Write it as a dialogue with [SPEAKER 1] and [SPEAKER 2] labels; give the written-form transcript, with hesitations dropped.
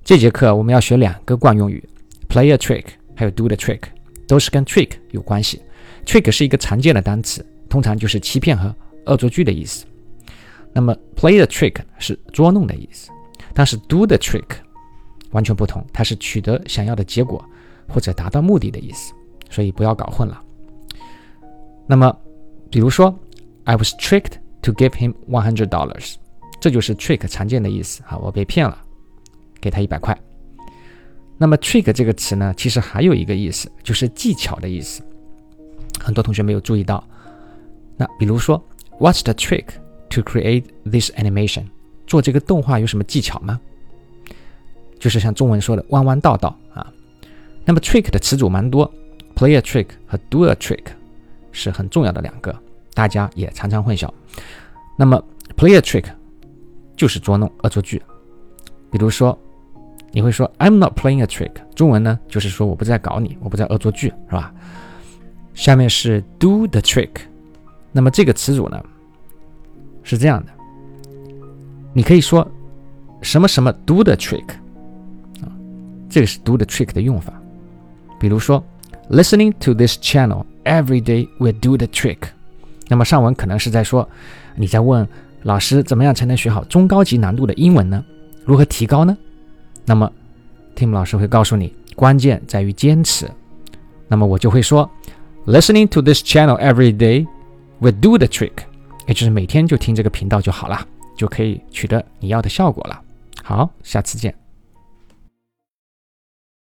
[SPEAKER 1] 这节课我们要学2个惯用语 play a trick 还有 do the trick， 都是跟 trick 有关系。 trick 是一个常见的单词，通常就是欺骗和恶作剧的意思。那么 play the trick 是捉弄的意思，但是 do the trick 完全不同，它是取得想要的结果或者达到目的的意思，所以不要搞混了。那么比如说 I was tricked to give him $100， 这就是 trick 常见的意思，我被骗了，给他100块。那么 trick 这个词呢，其实还有一个意思，就是技巧的意思，很多同学没有注意到。那比如说 What's the trick to create this animation？ 做这个动画有什么技巧吗？就是像中文说的弯弯道道啊。那么 trick 的词组蛮多， play a trick 和 do a trick 是很重要的2个，大家也常常混淆。那么 play a trick 就是捉弄恶作剧，比如说你会说 I'm not playing a trick， 中文呢就是说我不在搞你，我不在恶作剧，是吧？下面是 do the trick， 那么这个词组呢是这样的，你可以说什么什么 do the trick， 这个是 do the trick 的用法。比如说 Listening to this channel every day will do the trick， 那么上文可能是在说你在问老师怎么样才能学好中高级难度的英文呢？如何提高呢？那么 Tim 老师会告诉你，关键在于坚持。那么我就会说 Listening to this channel every day will do the trick， 也就是每天就听这个频道就好了，就可以取得你要的效果了。好，下次见。